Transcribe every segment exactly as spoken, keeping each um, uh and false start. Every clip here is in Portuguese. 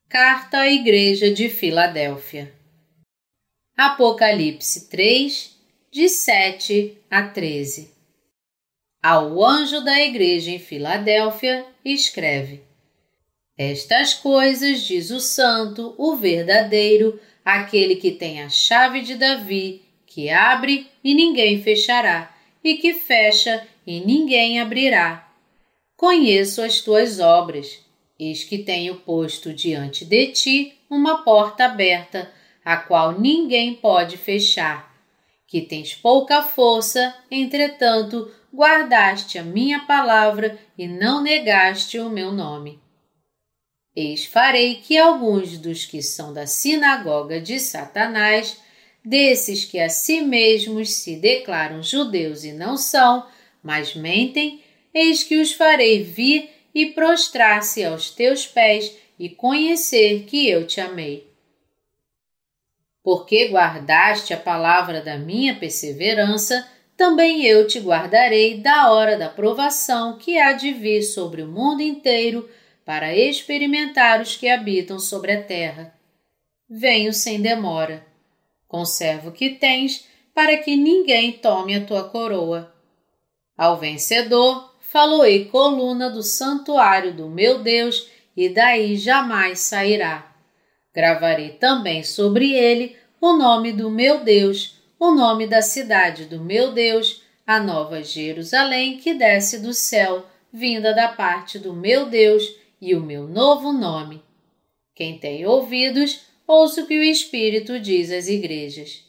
Carta à Igreja de Filadélfia. Apocalipse três, de sete a treze. Ao anjo da igreja em Filadélfia, escreve: Estas coisas diz o santo, o verdadeiro, aquele que tem a chave de Davi, que abre e ninguém fechará, e que fecha e ninguém abrirá. Conheço as tuas obras. Eis que tenho posto diante de ti uma porta aberta, a qual ninguém pode fechar. Que tens pouca força, entretanto, guardaste a minha palavra e não negaste o meu nome. Eis farei que alguns dos que são da sinagoga de Satanás, desses que a si mesmos se declaram judeus e não são, mas mentem, eis que os farei vir e prostrar-se aos teus pés e conhecer que eu te amei. Porque guardaste a palavra da minha perseverança, também eu te guardarei da hora da provação que há de vir sobre o mundo inteiro para experimentar os que habitam sobre a terra. Venho sem demora. Conserva o que tens, para que ninguém tome a tua coroa. Ao vencedor, faloei coluna do santuário do meu Deus, e daí jamais sairá. Gravarei também sobre ele o nome do meu Deus, o nome da cidade do meu Deus, a nova Jerusalém que desce do céu, vinda da parte do meu Deus, e o meu novo nome. Quem tem ouvidos, ouça o que o Espírito diz às igrejas.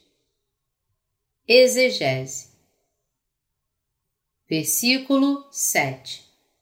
Exegese. Versículo sete.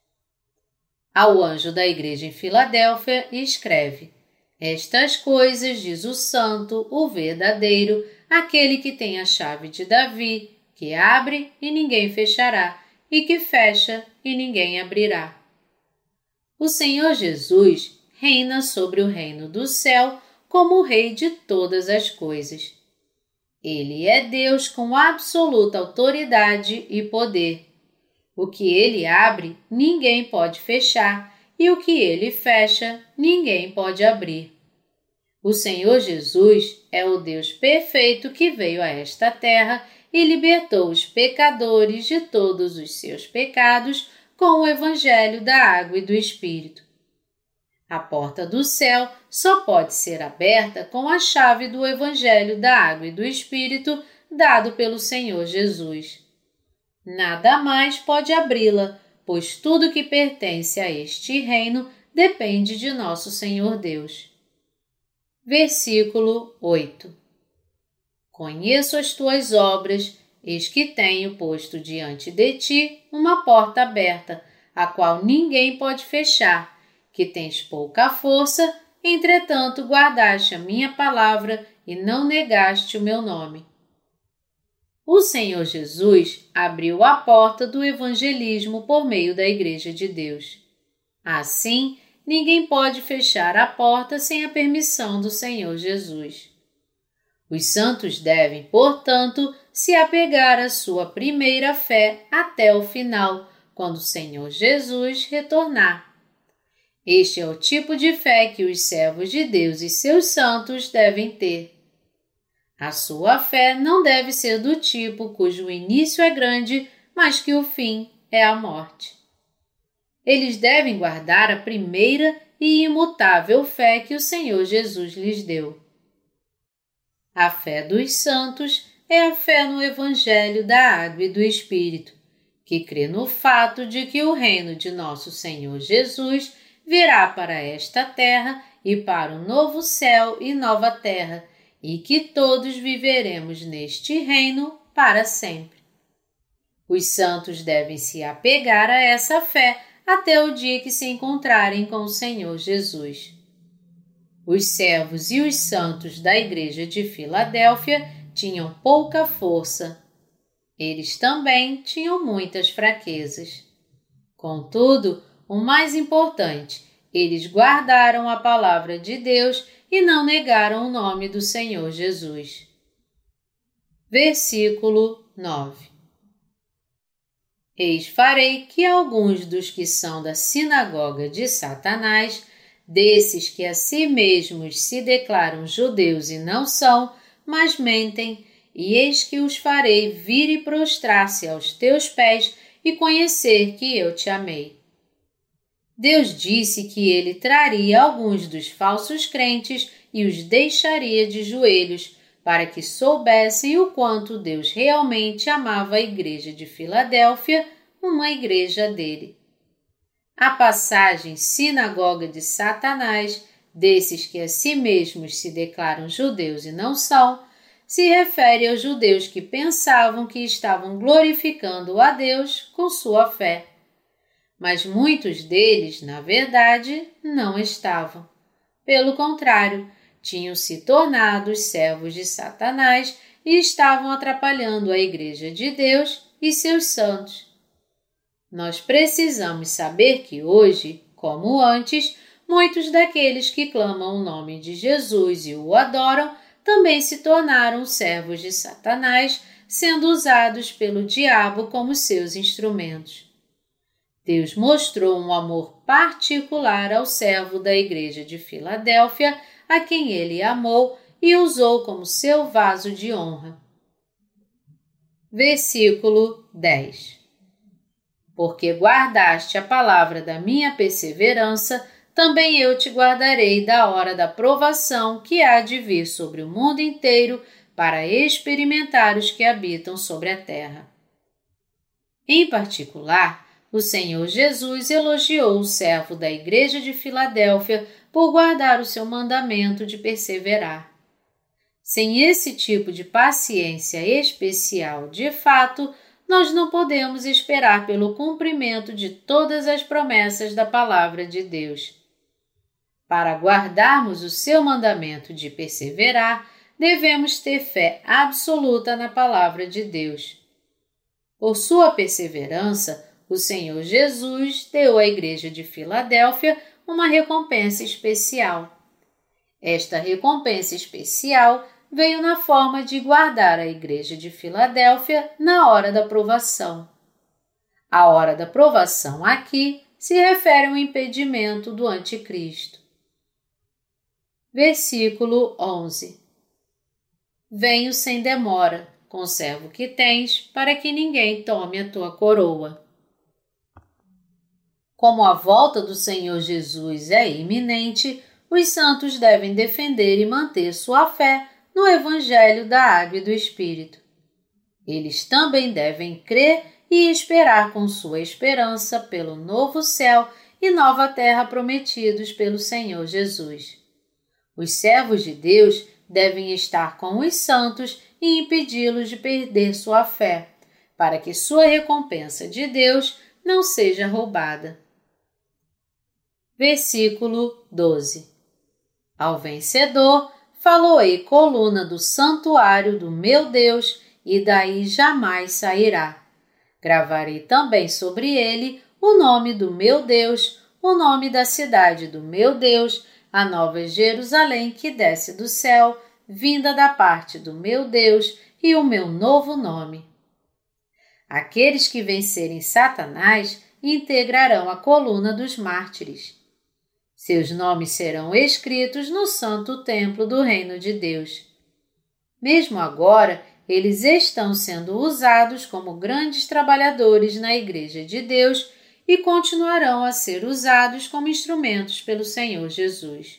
Ao anjo da igreja em Filadélfia escreve: Estas coisas diz o santo, o verdadeiro, aquele que tem a chave de Davi, que abre e ninguém fechará, e que fecha e ninguém abrirá. O Senhor Jesus reina sobre o reino do céu como o Rei de todas as coisas. Ele é Deus com absoluta autoridade e poder. O que ele abre, ninguém pode fechar, e o que ele fecha, ninguém pode abrir. O Senhor Jesus é o Deus perfeito que veio a esta terra e libertou os pecadores de todos os seus pecados com o Evangelho da água e do Espírito. A porta do céu só pode ser aberta com a chave do Evangelho da água e do Espírito dado pelo Senhor Jesus. Nada mais pode abri-la, pois tudo que pertence a este reino depende de nosso Senhor Deus. Versículo oito. Conheço as tuas obras, eis que tenho posto diante de ti uma porta aberta, a qual ninguém pode fechar, que tens pouca força, entretanto guardaste a minha palavra e não negaste o meu nome. O Senhor Jesus abriu a porta do evangelismo por meio da Igreja de Deus. Assim, ninguém pode fechar a porta sem a permissão do Senhor Jesus. Os santos devem, portanto, se apegar à sua primeira fé até o final, quando o Senhor Jesus retornar. Este é o tipo de fé que os servos de Deus e seus santos devem ter. A sua fé não deve ser do tipo cujo início é grande, mas que o fim é a morte. Eles devem guardar a primeira e imutável fé que o Senhor Jesus lhes deu. A fé dos santos é a fé no Evangelho da água e do Espírito, que crê no fato de que o reino de nosso Senhor Jesus virá para esta terra e para o novo céu e nova terra, e que todos viveremos neste reino para sempre. Os santos devem se apegar a essa fé até o dia que se encontrarem com o Senhor Jesus. Os servos e os santos da igreja de Filadélfia tinham pouca força. Eles também tinham muitas fraquezas. Contudo, o mais importante, eles guardaram a palavra de Deus e não negaram o nome do Senhor Jesus. Versículo nove. Eis farei que alguns dos que são da sinagoga de Satanás, desses que a si mesmos se declaram judeus e não são, mas mentem, e eis que os farei vir e prostrar-se aos teus pés e conhecer que eu te amei. Deus disse que ele traria alguns dos falsos crentes e os deixaria de joelhos, para que soubessem o quanto Deus realmente amava a igreja de Filadélfia, uma igreja dele. A passagem sinagoga de Satanás, desses que a si mesmos se declaram judeus e não são, se refere aos judeus que pensavam que estavam glorificando a Deus com sua fé. Mas muitos deles, na verdade, não estavam. Pelo contrário, tinham se tornado os servos de Satanás e estavam atrapalhando a Igreja de Deus e seus santos. Nós precisamos saber que hoje, como antes, muitos daqueles que clamam o nome de Jesus e o adoram também se tornaram servos de Satanás, sendo usados pelo diabo como seus instrumentos. Deus mostrou um amor particular ao servo da Igreja de Filadélfia, a quem ele amou e usou como seu vaso de honra. Versículo dez. Porque guardaste a palavra da minha perseverança, também eu te guardarei da hora da provação que há de vir sobre o mundo inteiro para experimentar os que habitam sobre a terra. Em particular, o Senhor Jesus elogiou o servo da Igreja de Filadélfia por guardar o seu mandamento de perseverar. Sem esse tipo de paciência especial, de fato, nós não podemos esperar pelo cumprimento de todas as promessas da Palavra de Deus. Para guardarmos o seu mandamento de perseverar, devemos ter fé absoluta na Palavra de Deus. Por sua perseverança, o Senhor Jesus deu à Igreja de Filadélfia uma recompensa especial. Esta recompensa especial veio na forma de guardar a Igreja de Filadélfia na hora da provação. A hora da provação aqui se refere ao impedimento do anticristo. Versículo onze. Venho sem demora, conserva o que tens, para que ninguém tome a tua coroa. Como a volta do Senhor Jesus é iminente, os santos devem defender e manter sua fé no Evangelho da Água e do Espírito. Eles também devem crer e esperar com sua esperança pelo novo céu e nova terra prometidos pelo Senhor Jesus. Os servos de Deus devem estar com os santos e impedi-los de perder sua fé, para que sua recompensa de Deus não seja roubada. Versículo doze. Ao vencedor, faloei coluna do santuário do meu Deus, e daí jamais sairá. Gravarei também sobre ele o nome do meu Deus, o nome da cidade do meu Deus, a nova Jerusalém que desce do céu, vinda da parte do meu Deus, e o meu novo nome. Aqueles que vencerem Satanás integrarão a coluna dos mártires. Seus nomes serão escritos no santo templo do reino de Deus. Mesmo agora, eles estão sendo usados como grandes trabalhadores na Igreja de Deus e continuarão a ser usados como instrumentos pelo Senhor Jesus.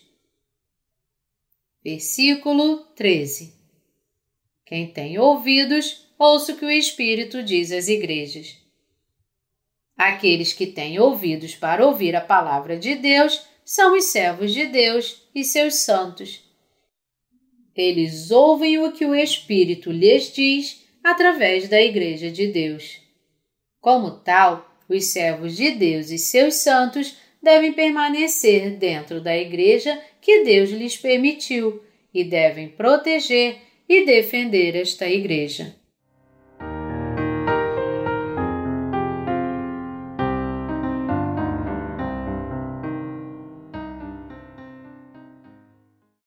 Versículo treze. Quem tem ouvidos, ouça o que o Espírito diz às igrejas. Aqueles que têm ouvidos para ouvir a palavra de Deus são os servos de Deus e seus santos. Eles ouvem o que o Espírito lhes diz através da Igreja de Deus. Como tal, os servos de Deus e seus santos devem permanecer dentro da Igreja que Deus lhes permitiu e devem proteger e defender esta Igreja.